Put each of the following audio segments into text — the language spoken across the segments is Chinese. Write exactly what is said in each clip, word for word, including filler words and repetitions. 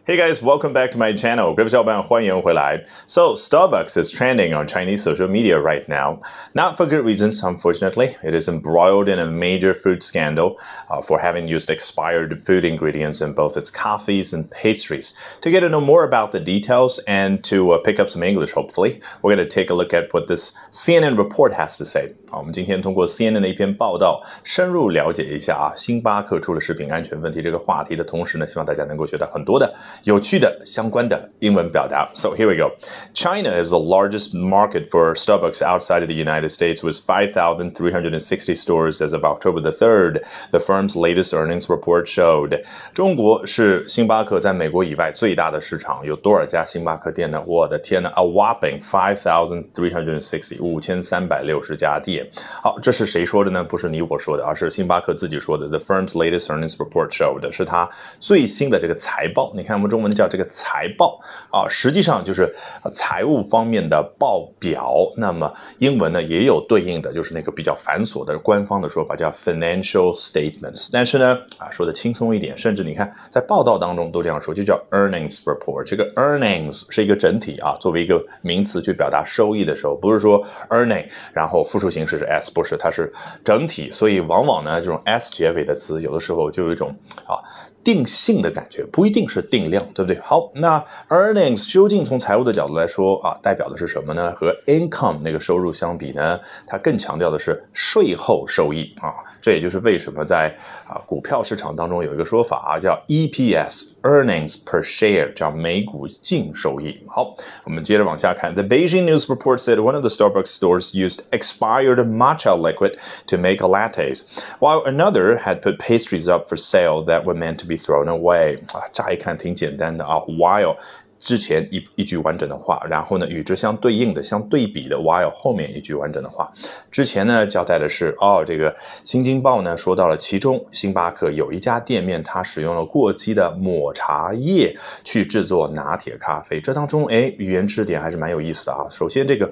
Hey guys, welcome back to my channel. 各位小伙伴，欢迎回来。So, Starbucks is trending on Chinese social media right now. Not for good reasons, unfortunately. It is embroiled in a major food scandal uh, for having used expired food ingredients in both its coffees and pastries. To get to know more about the details and to uh, pick up some English, hopefully, we're going to take a look at what this C N N report has to say. 好，我们今天通过 C N N 的一篇报道，深入了解一下啊，星巴克出了食品安全问题这个话题的同时呢，希望大家能够学到很多的有趣的相关的英文表达。So here we go. China is the largest market for Starbucks outside of the United States with five thousand three hundred sixty stores as of October the third, the firm's latest earnings report showed. 中国是星巴克在美国以外最大的市场，有多少家星巴克店呢？我的天呐 A whopping five thousand three hundred sixty, 五千三百六十家店。好，这是谁说的呢？不是你我说的，而是星巴克自己说的。The firm's latest earnings report showed 是它最新的这个财报。你看我们中文叫这个财报啊，实际上就是财务方面的报表。那么英文呢也有对应的，就是那个比较繁琐的官方的说法叫 financial statements。但是呢啊说的轻松一点，甚至你看在报道当中都这样说，就叫 earnings report。这个 earnings 是一个整体啊，作为一个名词去表达收益的时候，不是说 earning 然后复数形式是 s， 不是，它是整体。所以往往呢这种 s 结尾的词有的时候就有一种啊定性的感觉，不一定是定量，对不对？好，那 earnings 究竟从财务的角度来说啊，代表的是什么呢？和 income 那个收入相比呢，它更强调的是税后收益啊。这也就是为什么在啊股票市场当中有一个说法啊，叫 E P S earnings per share， 叫每股净收益。好，我们接着往下看。The Beijing News report said one of the Starbucks stores used expired matcha liquid to make lattes, while another had put pastries up for sale that were meant to be thrown away. 啊，乍一看挺简单的啊 while 之前一一句完整的话，然后呢与之相对应的相对比的 while 后面一句完整的话。之前呢交代的是哦，这个新京报呢说到了其中星巴克有一家店面它使用了过期的抹茶叶去制作拿铁咖啡。这当中哎语言知识点还是蛮有意思的啊。首先这个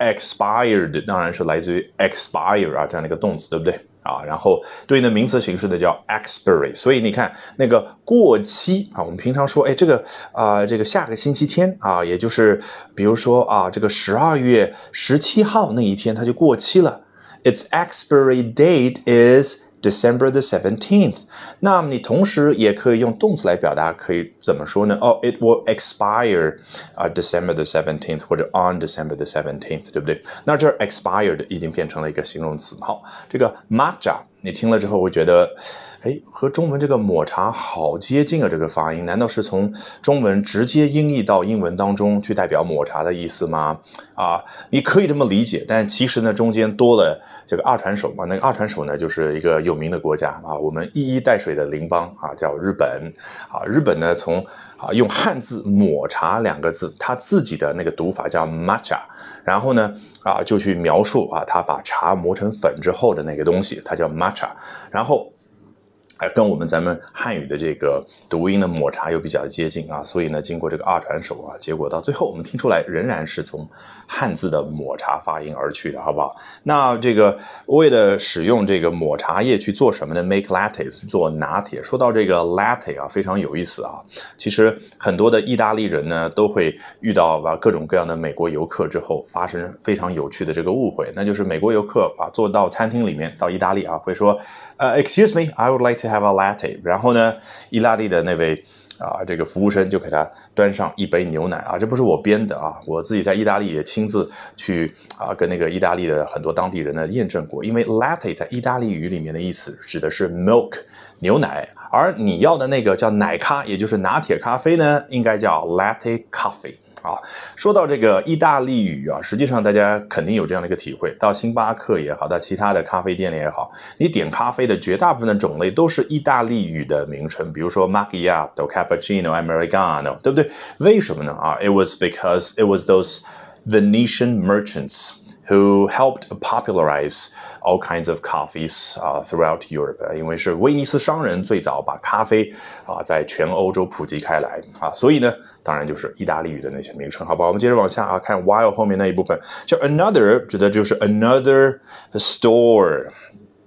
expired 当然是来自于 expire 啊这样的一个动词，对不对啊，然后对应的名词形式呢叫 expiry， 所以你看那个过期啊，我们平常说，哎，这个啊、呃，这个下个星期天啊，也就是比如说啊，这个十二月十七号那一天它就过期了。Its expiry date is December the seventeenth。 那么你同时也可以用动词来表达，可以怎么说呢？哦、oh, it will expire、uh, December the seventeenth 或者 on December the seventeenth， 对不对？那这 expired 已经变成了一个形容词。好，这个 matcha 你听了之后会觉得哎，和中文这个抹茶好接近啊，这个发音难道是从中文直接音译到英文当中去代表抹茶的意思吗？啊，你可以这么理解，但其实呢中间多了这个二传手嘛，那个二传手呢就是一个有名的国家啊，我们一衣带水的邻邦啊叫日本啊，日本呢从啊用汉字抹茶两个字，它自己的那个读法叫 matcha， 然后呢啊就去描述啊它把茶磨成粉之后的那个东西，它叫 matcha， 然后跟我们咱们汉语的这个读音的抹茶又比较接近啊，所以呢经过这个二传手啊，结果到最后我们听出来仍然是从汉字的抹茶发音而去的，好不好？那这个为了使用这个抹茶叶去做什么呢？ make lattes 做拿铁。说到这个 latte 啊，非常有意思啊。其实很多的意大利人呢都会遇到吧各种各样的美国游客之后发生非常有趣的这个误会，那就是美国游客啊坐到餐厅里面到意大利啊会说Uh, excuse me, I would like to have a latte. 然后呢，意大利的那位啊，这个服务生就给他端上一杯牛奶啊，这不是我编的啊，我自己在意大利也亲自去啊跟那个意大利的很多当地人呢验证过，因为 latte 在意大利语里面的意思指的是 milk 牛奶，而你要的那个叫奶咖，也就是拿铁咖啡呢，应该叫 latte coffee。啊，说到这个意大利语啊，实际上大家肯定有这样的一个体会，到星巴克也好，到其他的咖啡店里也好，你点咖啡的绝大部分的种类都是意大利语的名称，比如说 macchiato、cappuccino、americano， 对不对？为什么呢？啊 ，it was because it was those Venetian merchants who helped popularize all kinds of coffees uh, throughout Europe， 因为是威尼斯商人最早把咖啡啊在全欧洲普及开来啊，所以呢当然就是意大利语的那些名称，好不好？我们接着往下啊，看 while 后面那一部分，叫 another 指的就是 another store。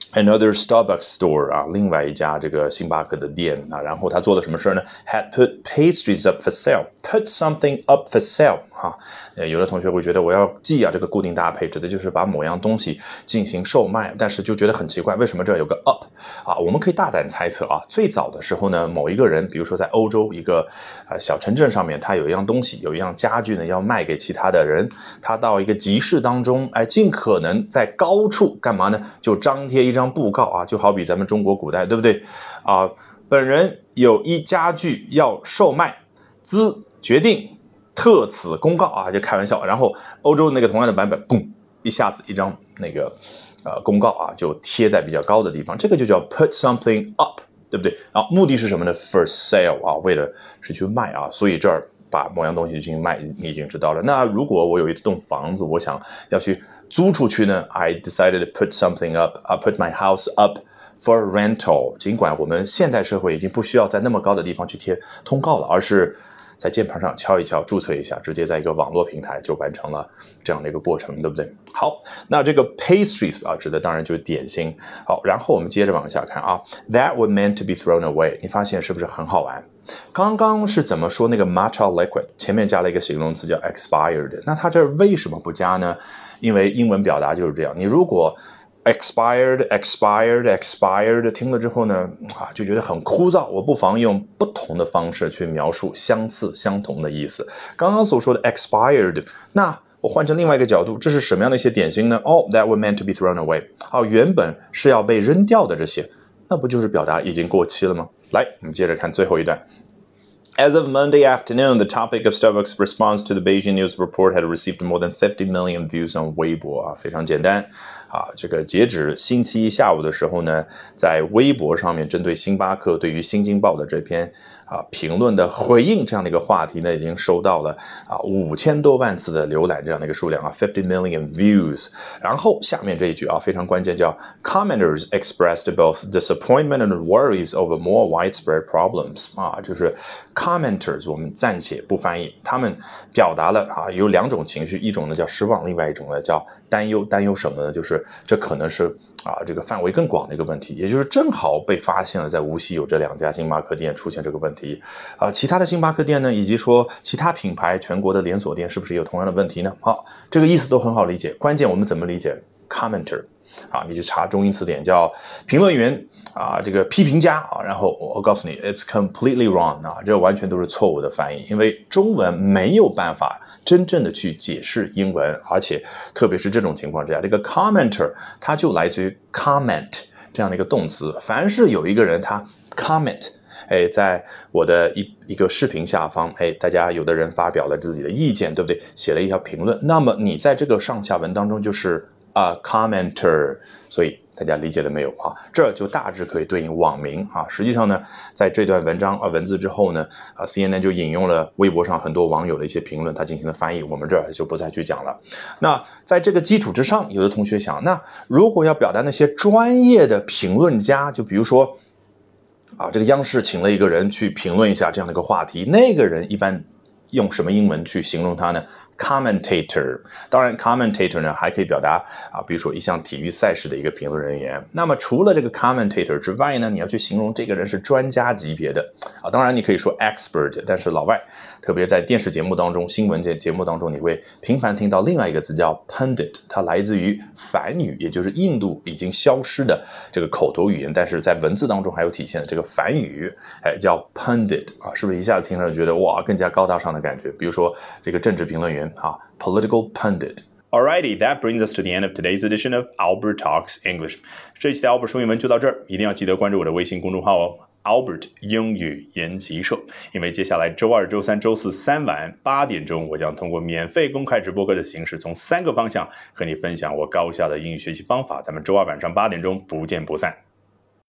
Another Starbucks store 啊，另外一家这个星巴克的店啊，然后他做了什么事呢 ？Had put pastries up for sale. Put something up for sale 啊，呃，有的同学会觉得我要记啊，这个固定搭配指的就是把某样东西进行售卖，但是就觉得很奇怪，为什么这有个 up 啊？我们可以大胆猜测啊，最早的时候呢，某一个人，比如说在欧洲一个呃小城镇上面，他有一样东西，有一样家具呢要卖给其他的人，他到一个集市当中，哎，尽可能在高处干嘛呢？就张贴一张布告啊，就好比咱们中国古代，对不对啊？本人有一家具要售卖，兹决定特此公告啊，就开玩笑。然后欧洲那个同样的版本，嘣，一下子一张那个呃公告啊，就贴在比较高的地方，这个就叫 put something up， 对不对？然后目的是什么呢 ？For sale 啊，为了是去卖啊，所以这儿把某样东西进行卖，你已经知道了。那如果我有一栋房子，我想要去租出去呢 ？I decided to put something up. I put my house up for rental. 尽管我们现代社会已经不需要在那么高的地方去贴通告了，而是在键盘上敲一敲，注册一下，直接在一个网络平台就完成了这样的一个过程，对不对？好，那这个 pastries 啊，指的当然就是点心。好，然后我们接着往下看啊 ，That were meant to be thrown away. 你发现是不是很好玩？刚刚是怎么说那个 matcha liquid 前面加了一个形容词叫 expired， 那它这为什么不加呢？因为英文表达就是这样，你如果 expired expired expired 听了之后呢啊就觉得很枯燥，我不妨用不同的方式去描述相似相同的意思。刚刚所说的 expired， 那我换成另外一个角度，这是什么样的一些点心呢？哦、oh, that were meant to be thrown away， 啊，原本是要被扔掉的这些，那不就是表达已经过期了吗？来，我们接着看最后一段。As of Monday afternoon, the topic of Starbucks' response to the Beijing news report had received more than fifty million views on Weibo 啊，非常简单啊。这个截止星期一下午的时候呢，在微博上面针对星巴克对于新京报的这篇啊评论的回应这样的一个话题呢，已经收到了啊五千多万次的浏览这样的一个数量啊 ，fifty million views。然后下面这一句啊非常关键，叫 Commenters expressed both disappointment and worries over more widespread problems 啊，就是 commenters 我们暂且不翻译，他们表达了啊有两种情绪，一种呢叫失望，另外一种呢叫担忧。担忧什么呢？就是这可能是啊这个范围更广的一个问题，也就是正好被发现了在无锡有这两家星巴克店出现这个问题啊，其他的星巴克店呢，以及说其他品牌全国的连锁店是不是也有同样的问题呢？好，这个意思都很好理解，关键我们怎么理解 commenter 啊，你去查中英词典叫评论员啊，这个批评家啊，然后我告诉你 it's completely wrong 啊，这完全都是错误的翻译，因为中文没有办法真正的去解释英文，而且特别是这种情况之下，这个 commenter 它就来自于 comment 这样的一个动词，凡是有一个人他 comment， 哎，在我的一一个视频下方，哎，大家有的人发表了自己的意见，对不对？写了一条评论，那么你在这个上下文当中就是a commenter， 所以大家理解了没有啊？这就大致可以对应网民啊。实际上呢，在这段文章啊文字之后呢，啊 C N N 就引用了微博上很多网友的一些评论，他进行了翻译，我们这儿就不再去讲了。那在这个基础之上，有的同学想，那如果要表达那些专业的评论家，就比如说啊，这个央视请了一个人去评论一下这样的一个话题，那个人一般用什么英文去形容他呢？Commentator， 当然 commentator 呢还可以表达啊，比如说一项体育赛事的一个评论人员。那么除了这个 commentator 之外呢，你要去形容这个人是专家级别的啊，当然你可以说 expert， 但是老外特别在电视节目当中、新闻节节目当中，你会频繁听到另外一个词叫 pundit， 它来自于梵语，也就是印度已经消失的这个口头语言，但是在文字当中还有体现的这个梵语，哎，叫 pundit 啊，是不是一下子听上去觉得哇更加高大上的感觉？比如说这个政治评论员。啊 political pundit. Alrighty, that brings us to the end of today's edition of Albert Talks English. 这一期的 Albert 说英文就到这儿，一定要记得关注我的微信公众号哦 ，Albert 英语研习社。因为接下来周二、周三、周四三晚八点钟，我将通过免费公开直播课的形式，从三个方向和你分享我高效的英语学习方法。咱们周二晚上八点钟不见不散。